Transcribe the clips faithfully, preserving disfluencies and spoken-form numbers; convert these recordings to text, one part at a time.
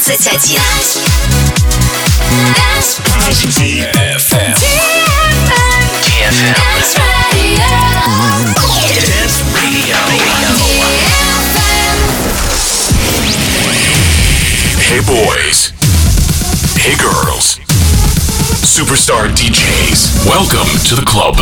двадцать один. ди эф эм. ди эф эм. Dance Radio. Dance Radio. Hey boys. Hey girls. Superstar ди джейс. Welcome to the club.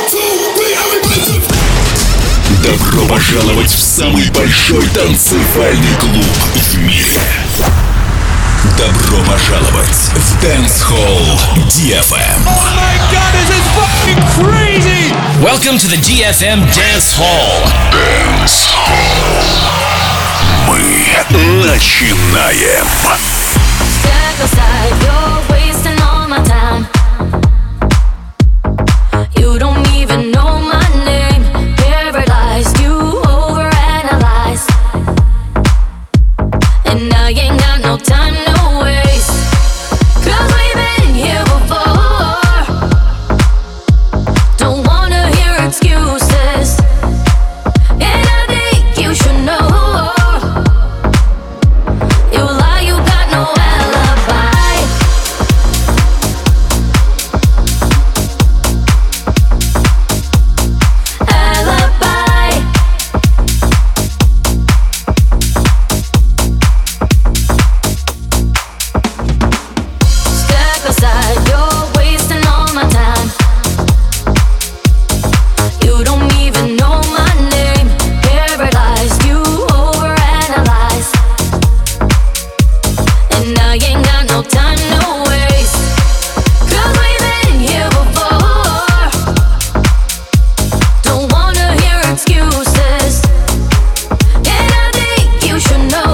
Добро пожаловать в самый большой танцевальный клуб в мире. Добро пожаловать в Dance Hall ди эф эм. Oh my god, this is fucking crazy! Welcome to the ди эф эм Dance Hall. Dance Hall. Мы начинаем. Step aside, you're wasting all my time. You don't even know my name. Paralyzed, you overanalyze. And I ain't got no time, no waste. Cause we've been here before. Don't wanna hear excuses. And I think you should know. You lie, you got no alibi. Alibi. Step aside, you're wasting all my time. You don't even know my name. Paralyzed, you overanalyze. And I ain't got no time, no waste. Cause we've been here before. Don't wanna hear excuses. And I think you should know.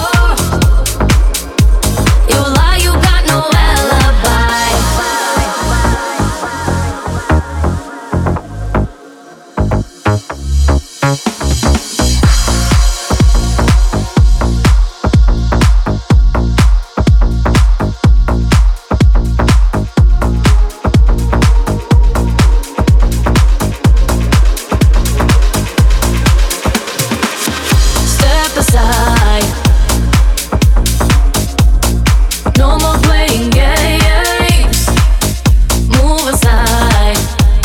You lie, you got no alibi. Step aside. No more playing games. Move aside.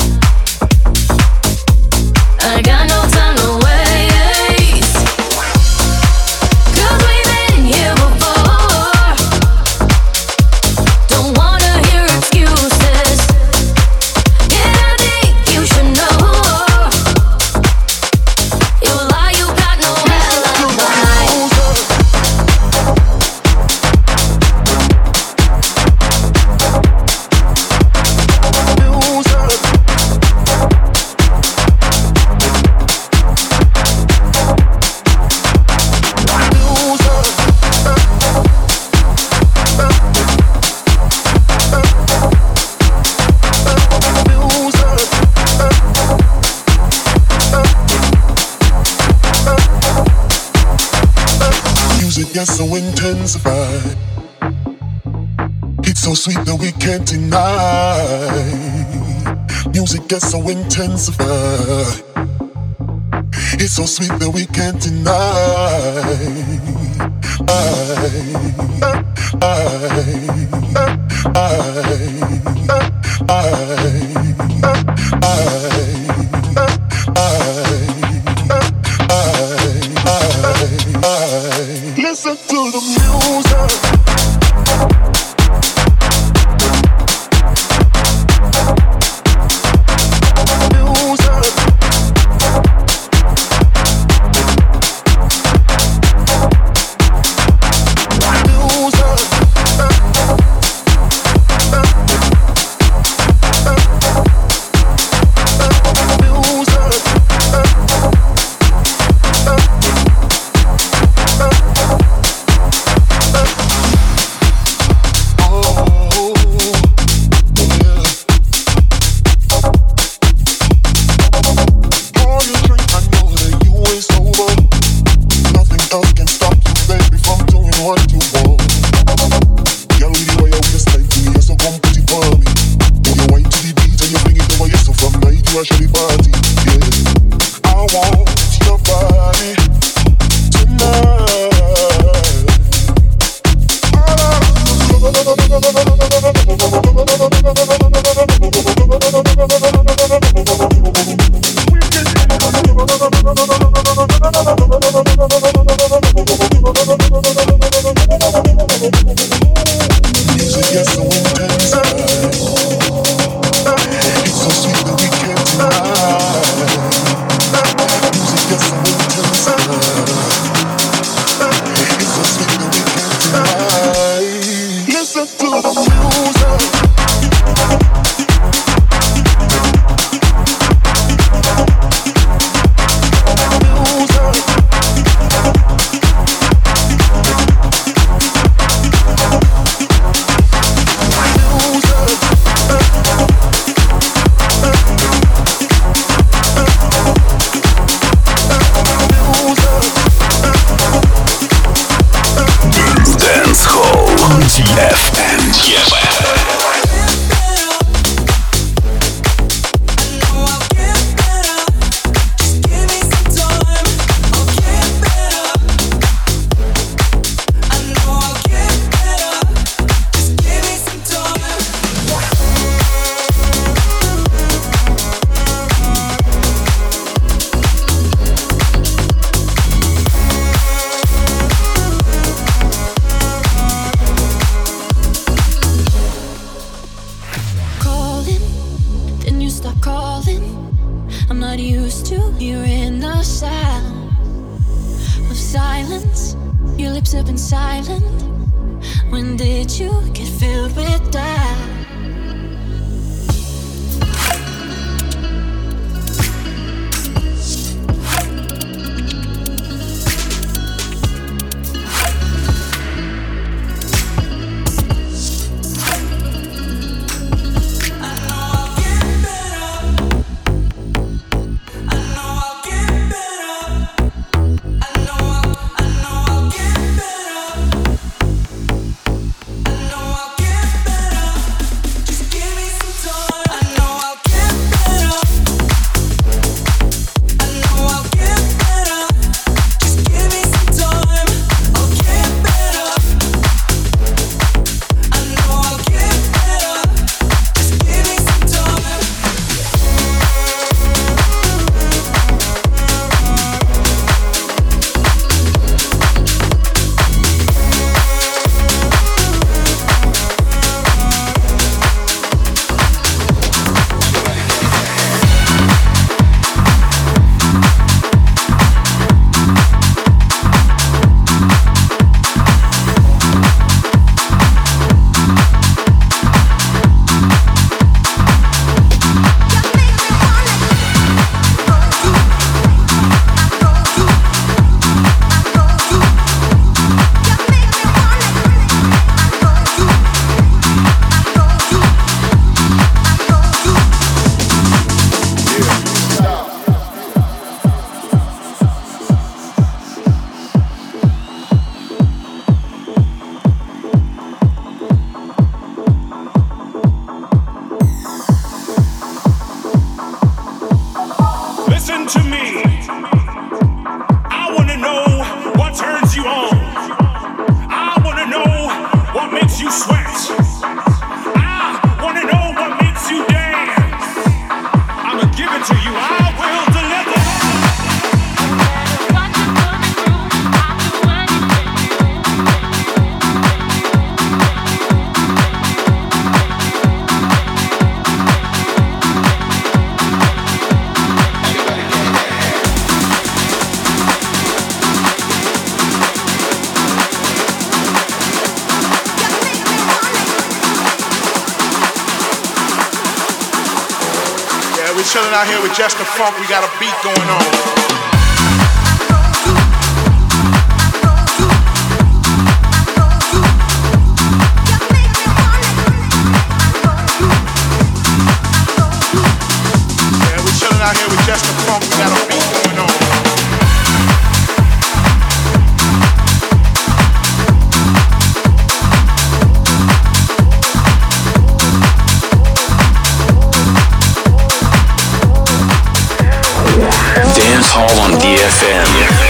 I got no time to waste. Cause we've been here before. Don't wanna hear excuses. And I think you should know. You lie, you got no alibi. Music gets so intensified. It's so sweet that we can't deny. Music gets so intensified. It's so sweet that we can't deny. I, I, listen to the music. are calling. I'm not used to hearing the sound of silence. Your lips have been silent. When did you get filled with doubt? Chilling out here with just the funk, we got a beat going on. Out here with just the funk, we got a beat going on. Dance Hall on D F M.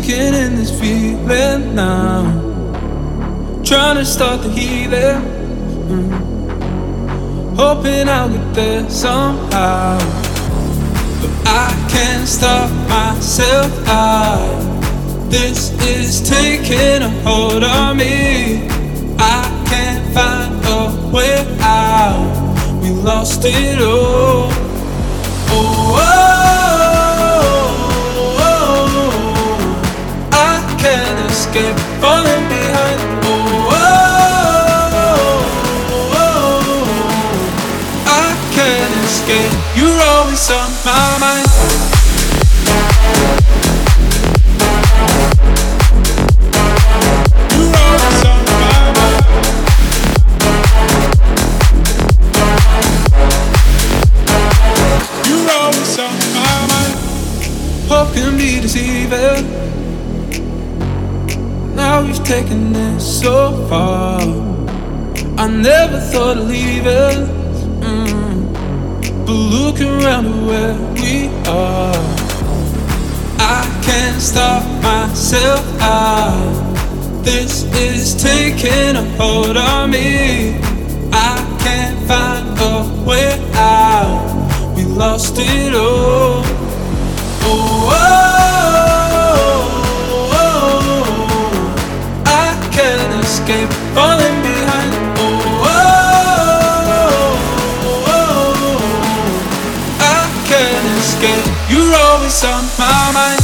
sinking in this feeling now, trying to start the healing, mm. hoping I'll get there somehow, but I can't stop myself. I, this is taking a hold on me. I can't find a way out. We lost it all. Oh, oh, oh, oh. I can't escape falling behind. Oh, oh, oh, oh. I can't escape. You're always on my mind. Hope can be deceiving. Now we've taken it so far. I never thought of leaving, mm. but look around at where we are. I can't stop myself out. This is taking a hold on me. I can't find a way out. We lost it all. Oh, oh, oh, oh, I can't escape falling behind. Oh, oh, oh, I can't escape. You're always on my mind.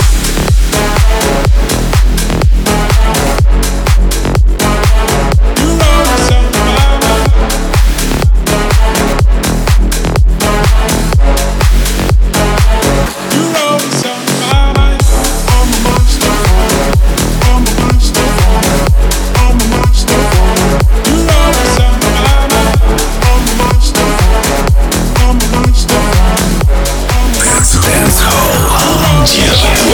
You're always on my mind. Dancehall.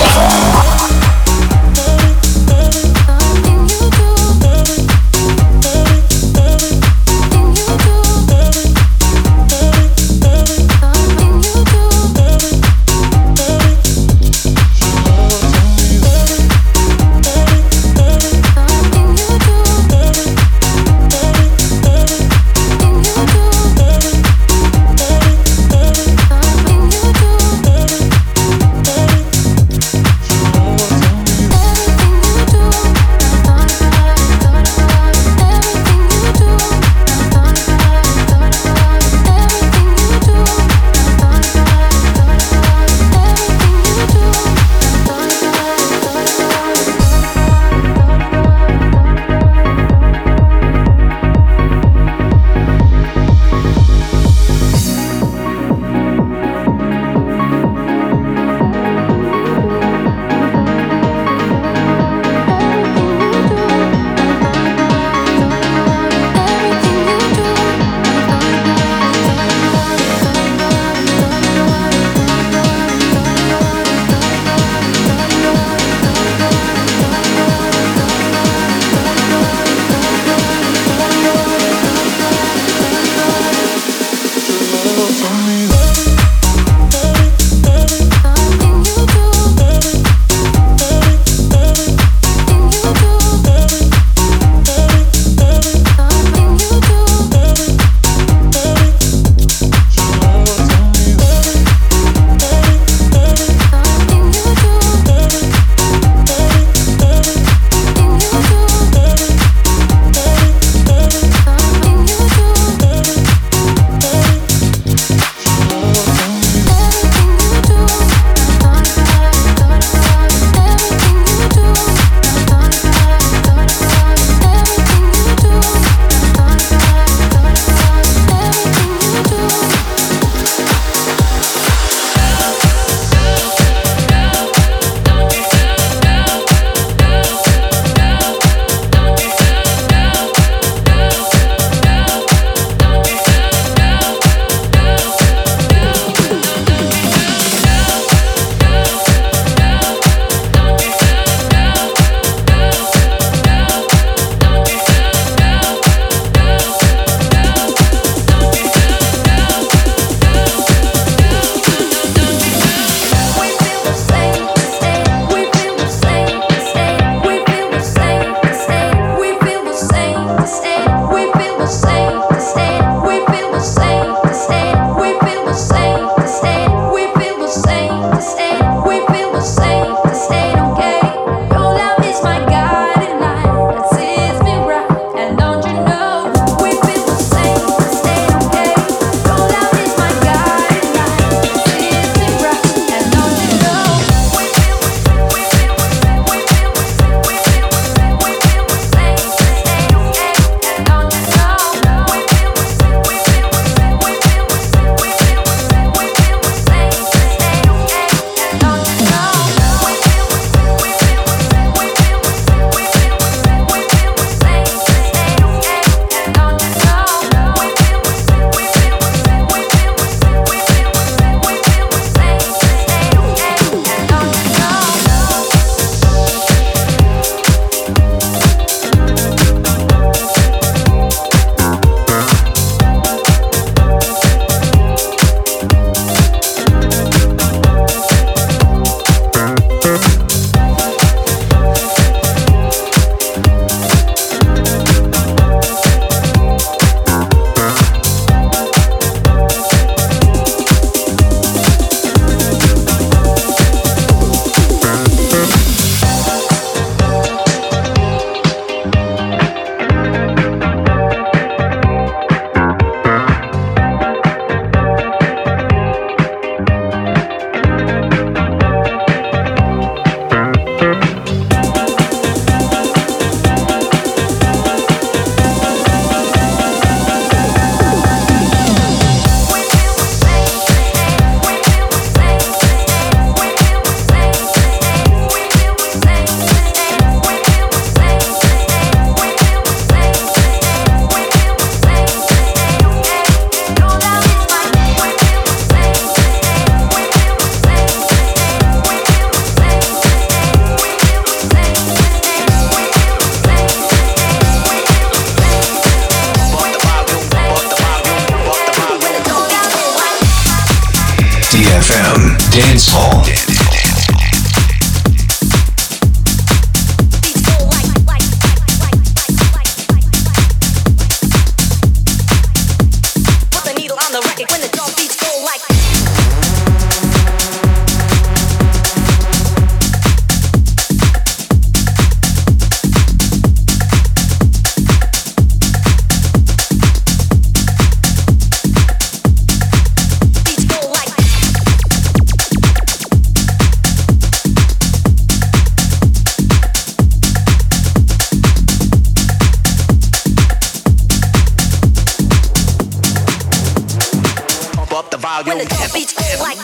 volume. When the beats go like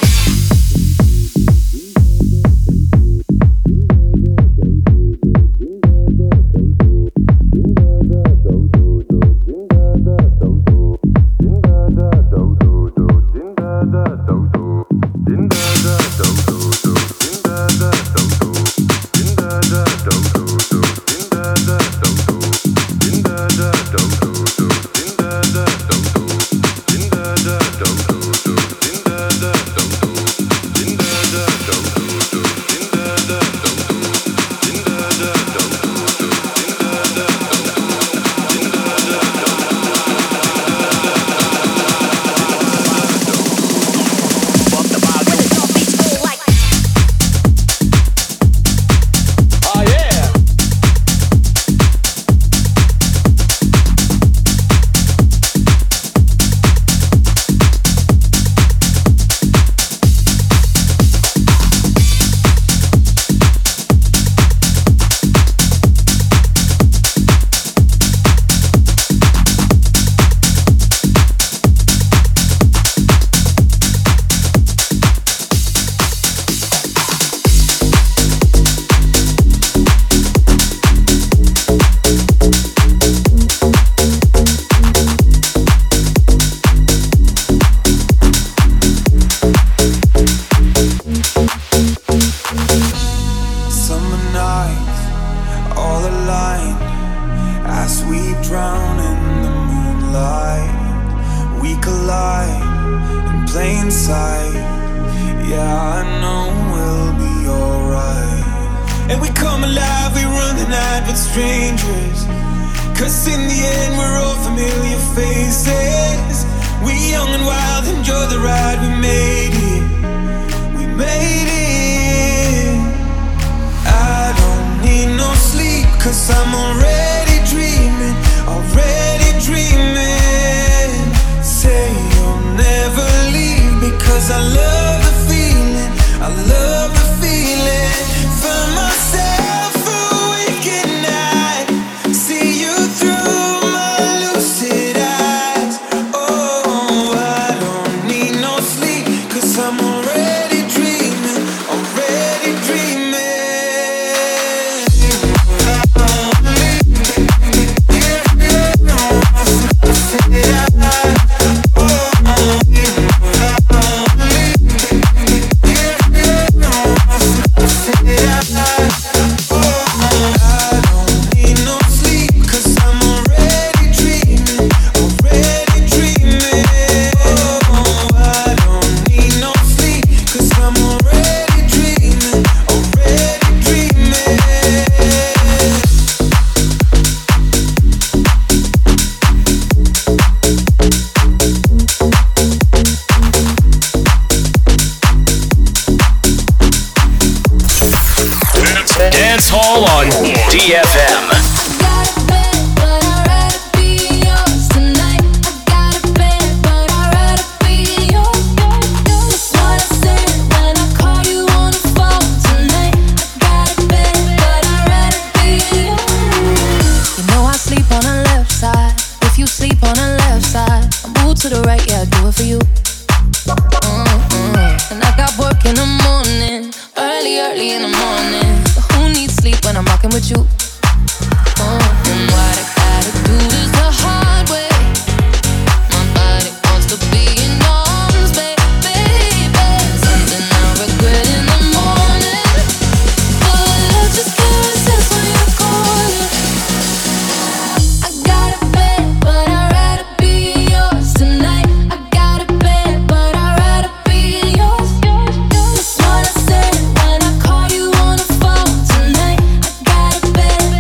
better.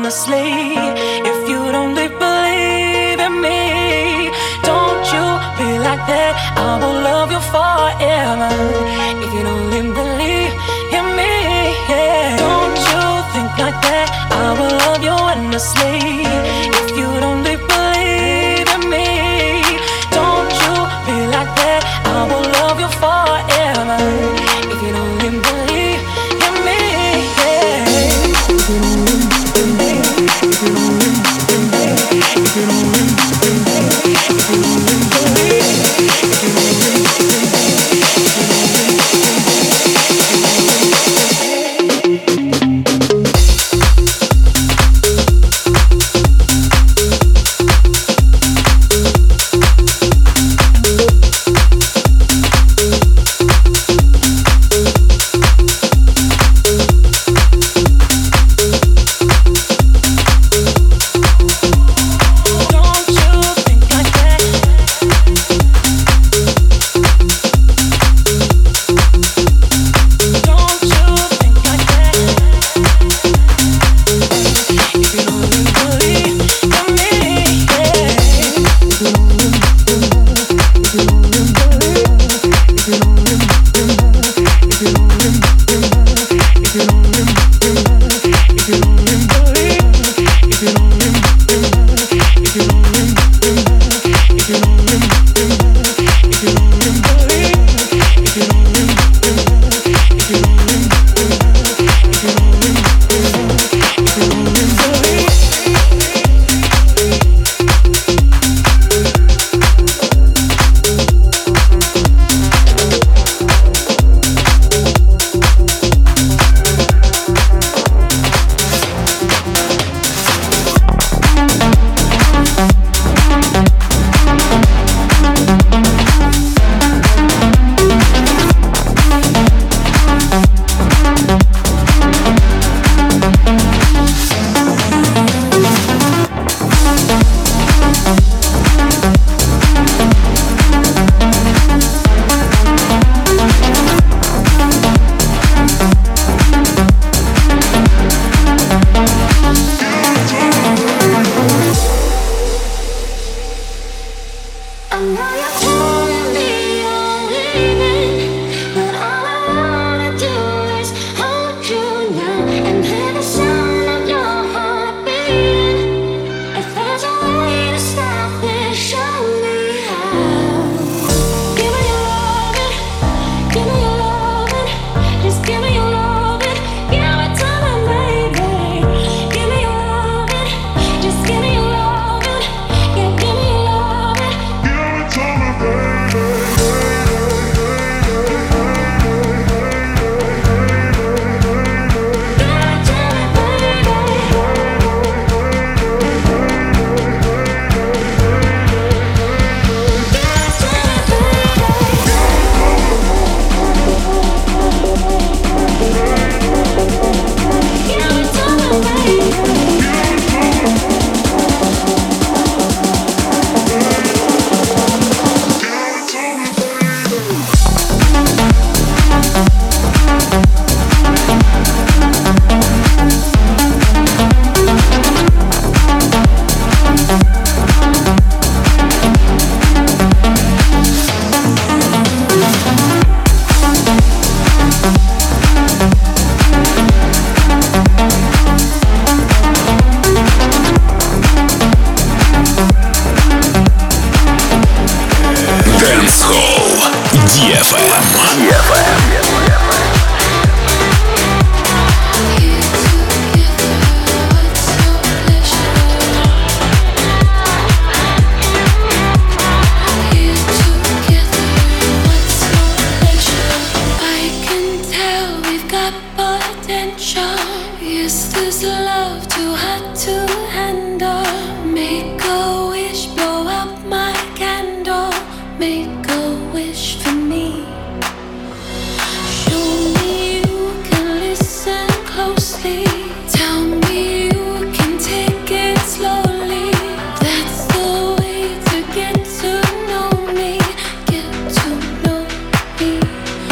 endlessly. If you'd only believe in me, don't you be like that, I will love you forever. If you'd only believe in me, yeah. Don't you think like that, I will love you endlessly. If you'd only believe in me, don't you be like that, I will love you forever. If you'd only believe in me, yeah. If you'd only believe, if you'd only believe, if you'd only believe, if you'd only believe, if you'd only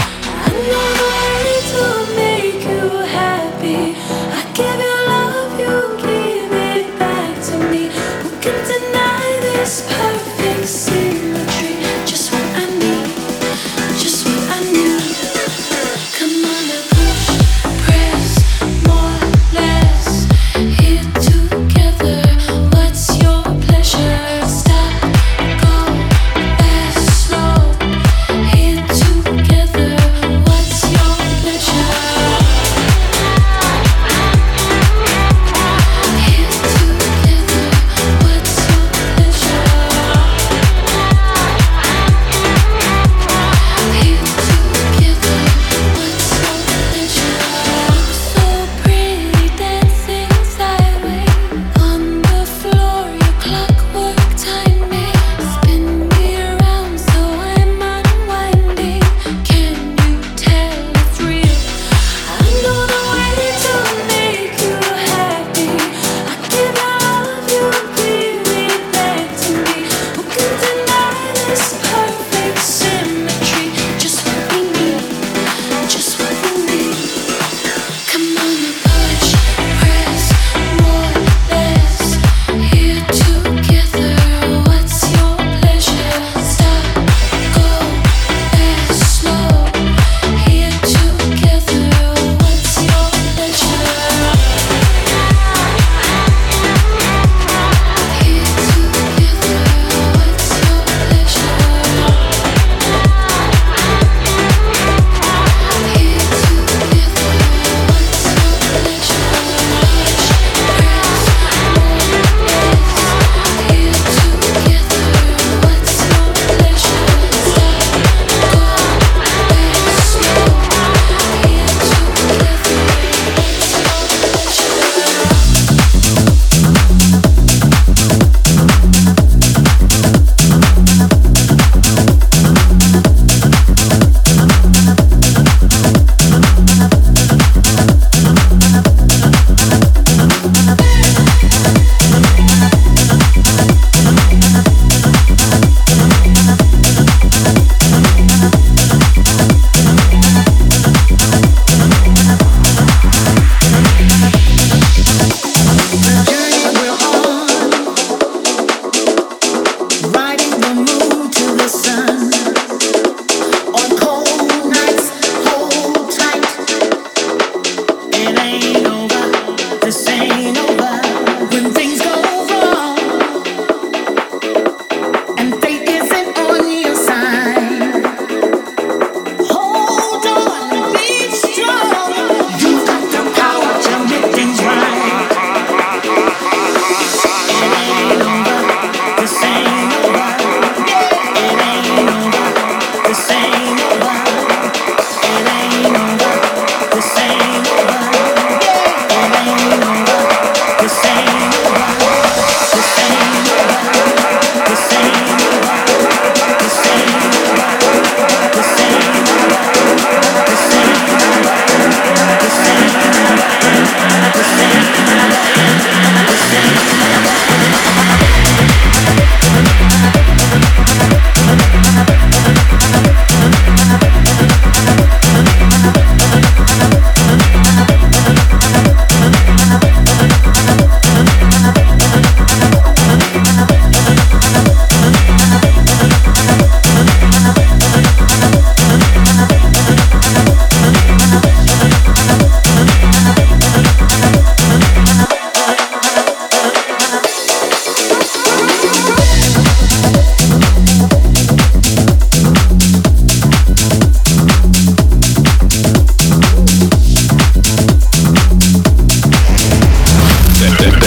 give you love, you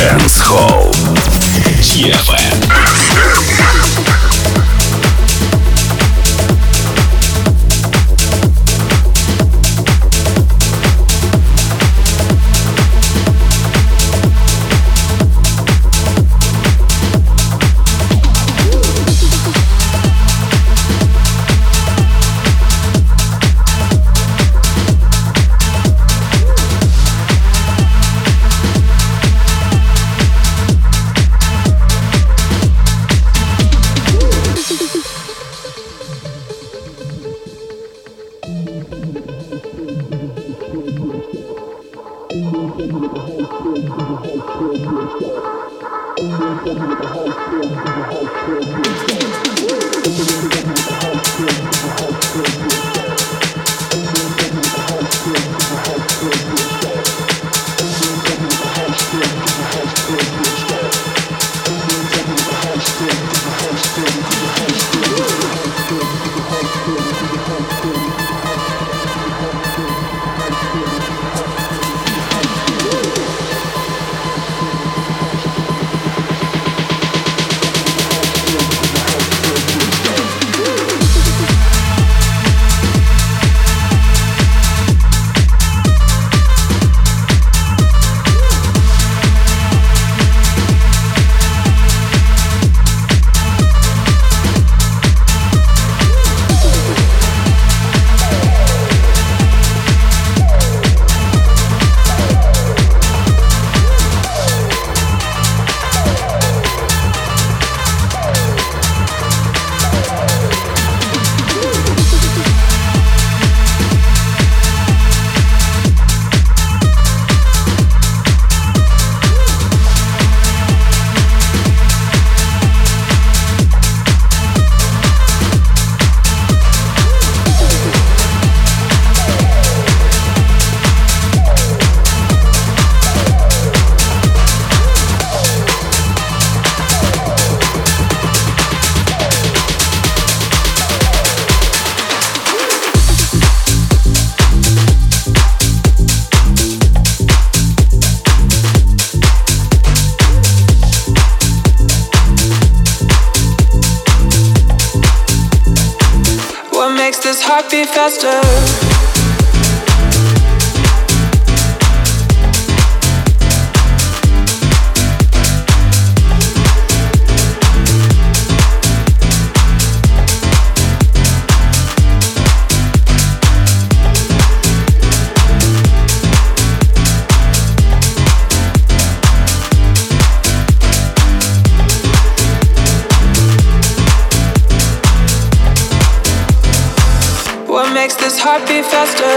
Dance Hall. ди эф эм. Beat faster. What makes this heart beat faster?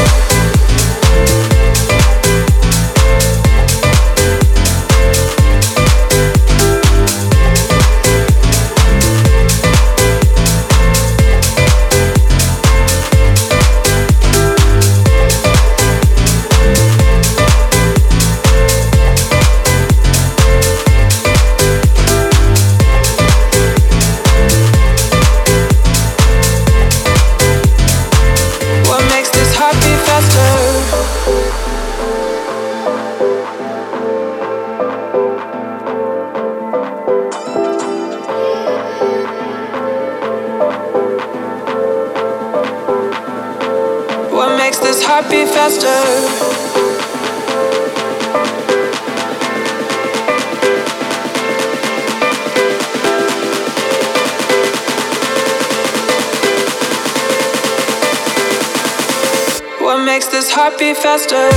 Beat faster. What makes this heart beat faster?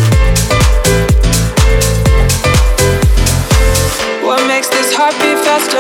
What makes this heart beat faster?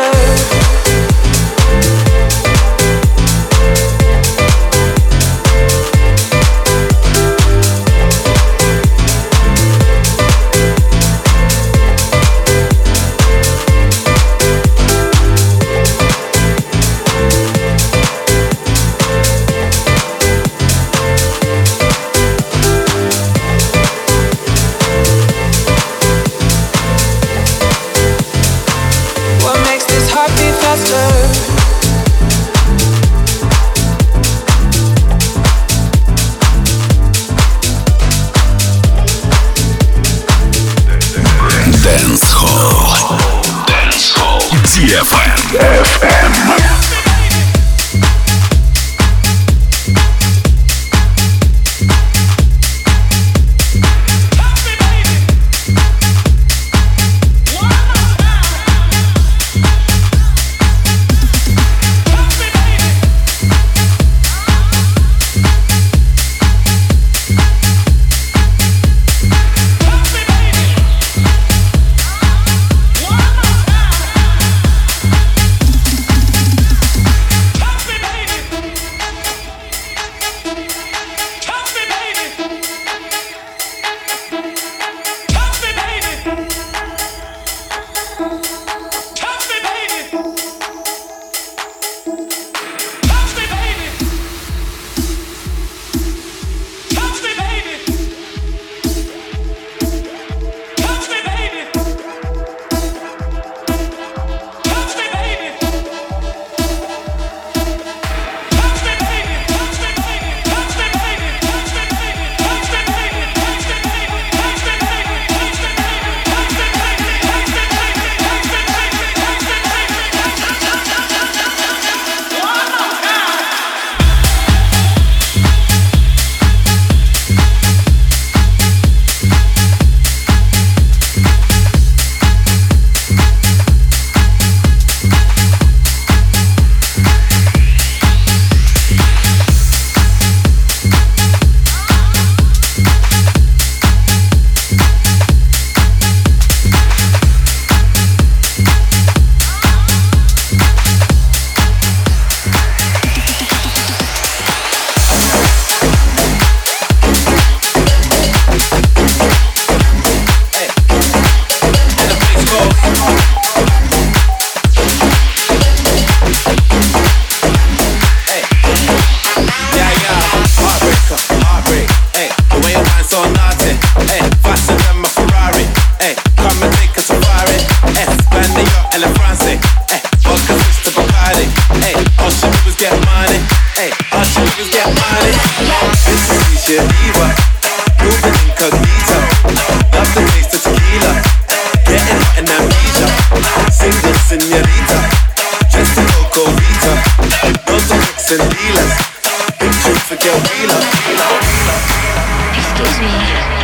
Hey, all she do is get money. Hey, all she do is get money. This is Misha Diva, moving incognito. Love the taste of tequila, getting hot in amnesia. Single señorita, dressed in Coco Rita. Loads of mix and dealers, big drink for Del Vila. Excuse me.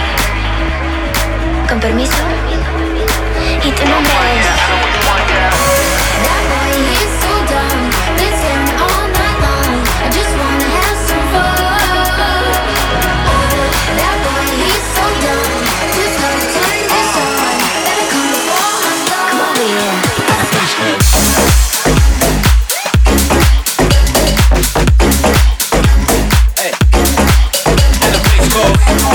Con permiso. ¿Y tu nombre es? That boy, he's so dumb. Been staring all night long. I just wanna have some fun. That boy, he's so dumb. Just love turn this on. Better come before I'm done. Come over here. Hey, and the place goes.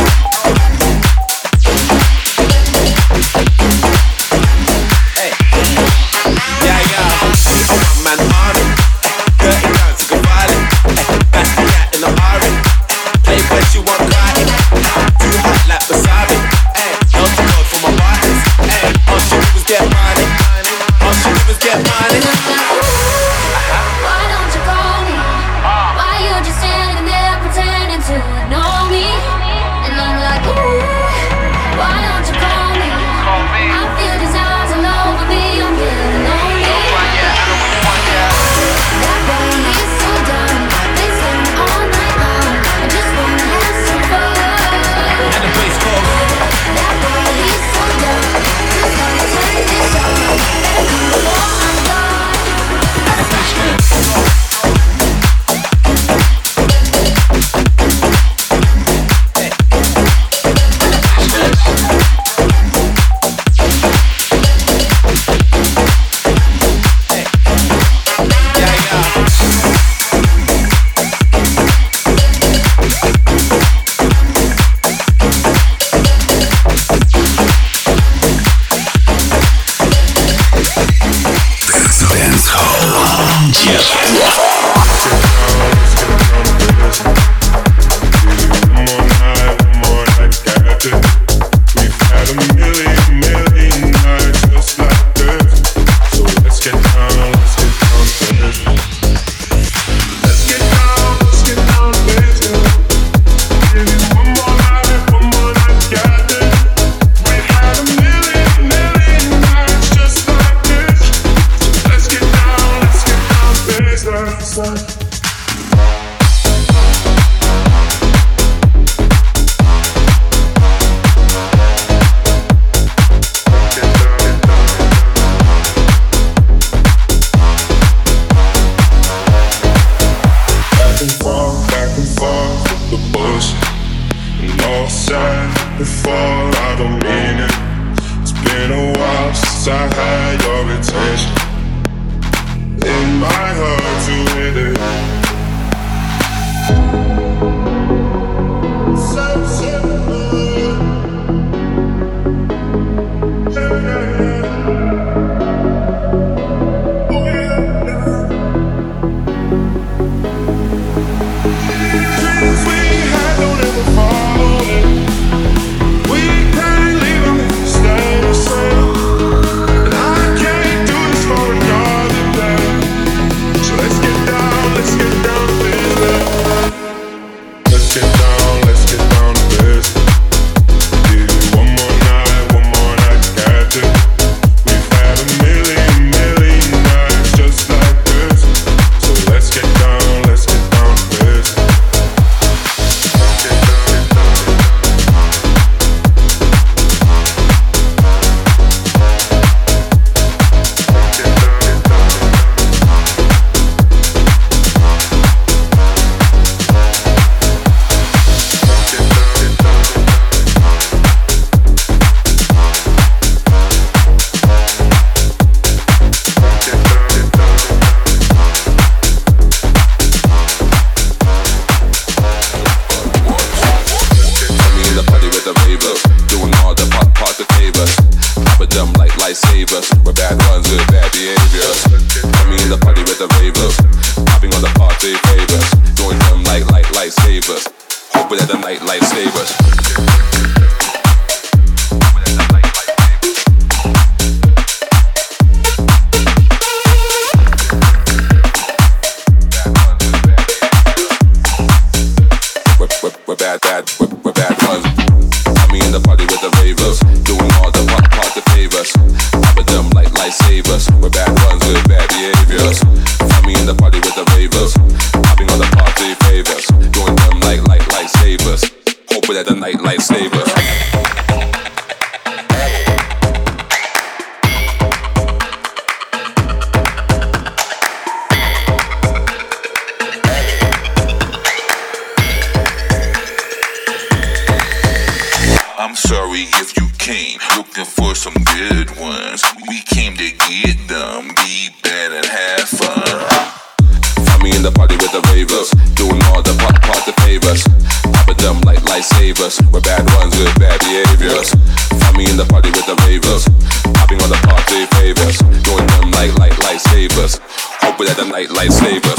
I had your attention. In my heart to hit it. with the ravers, popping all the party favors, doing them like light lightsabers. Hoping that the night lightsabers. I'm sorry if you came looking for some good ones. We came to get them, be bad and have fun. Find me in the party with the ravers, doing all the pop party favors, popping them like lightsabers. We're bad ones with bad behaviors. Find me in the party with the ravers, popping all the party favors, doing them like light lightsabers. Hoping that the night lightsabers.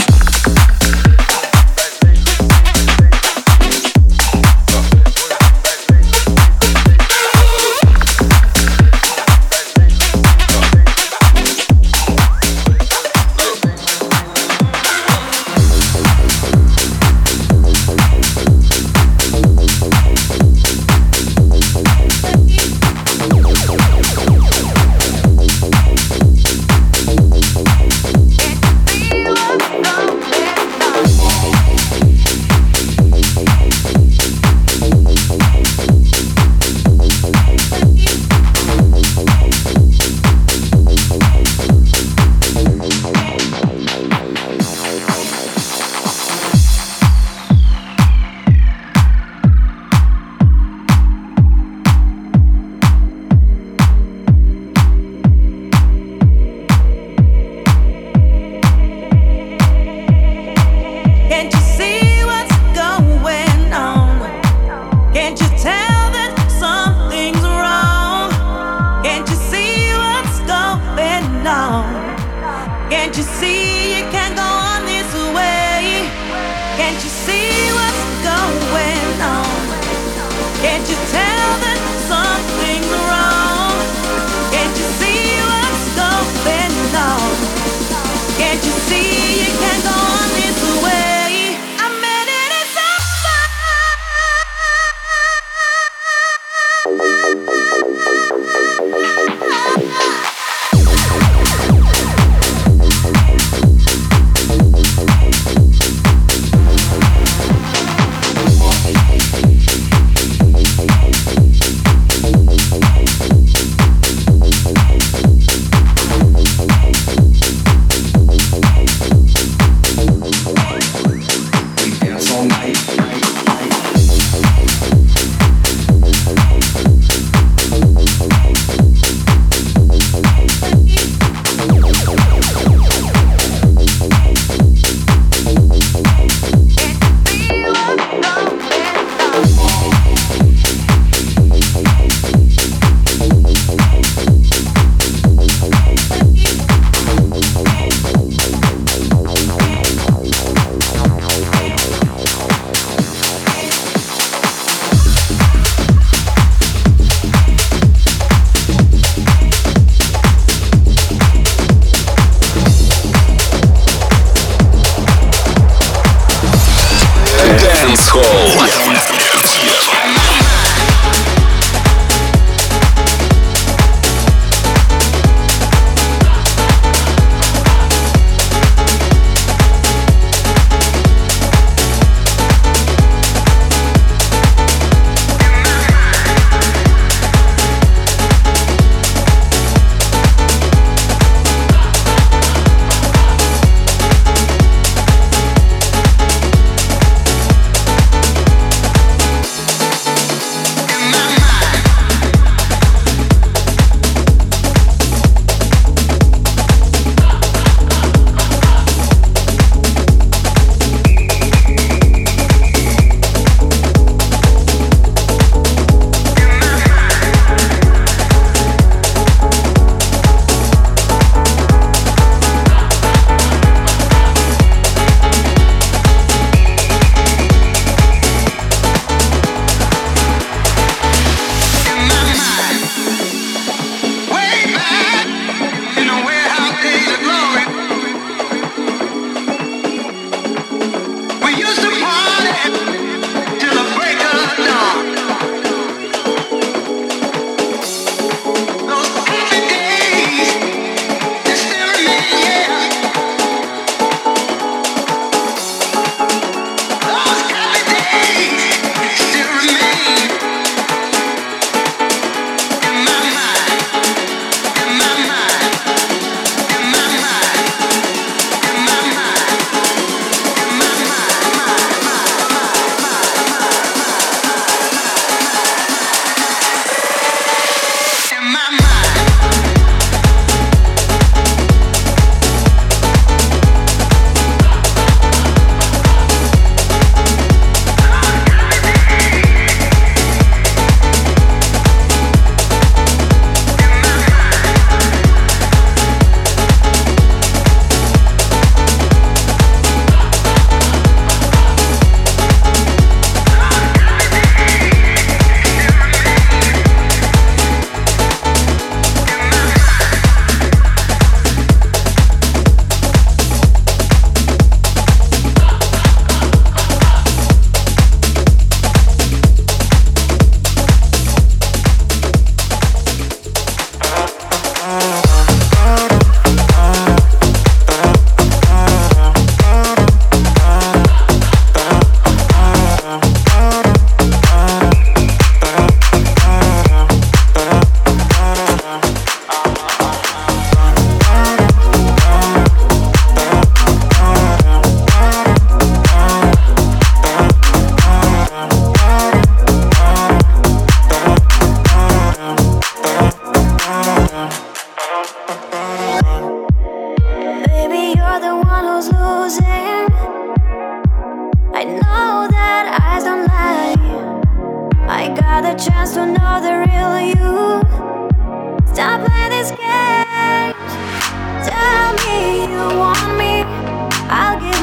chance to know the real you. Stop playing this game. Tell me you want me, I'll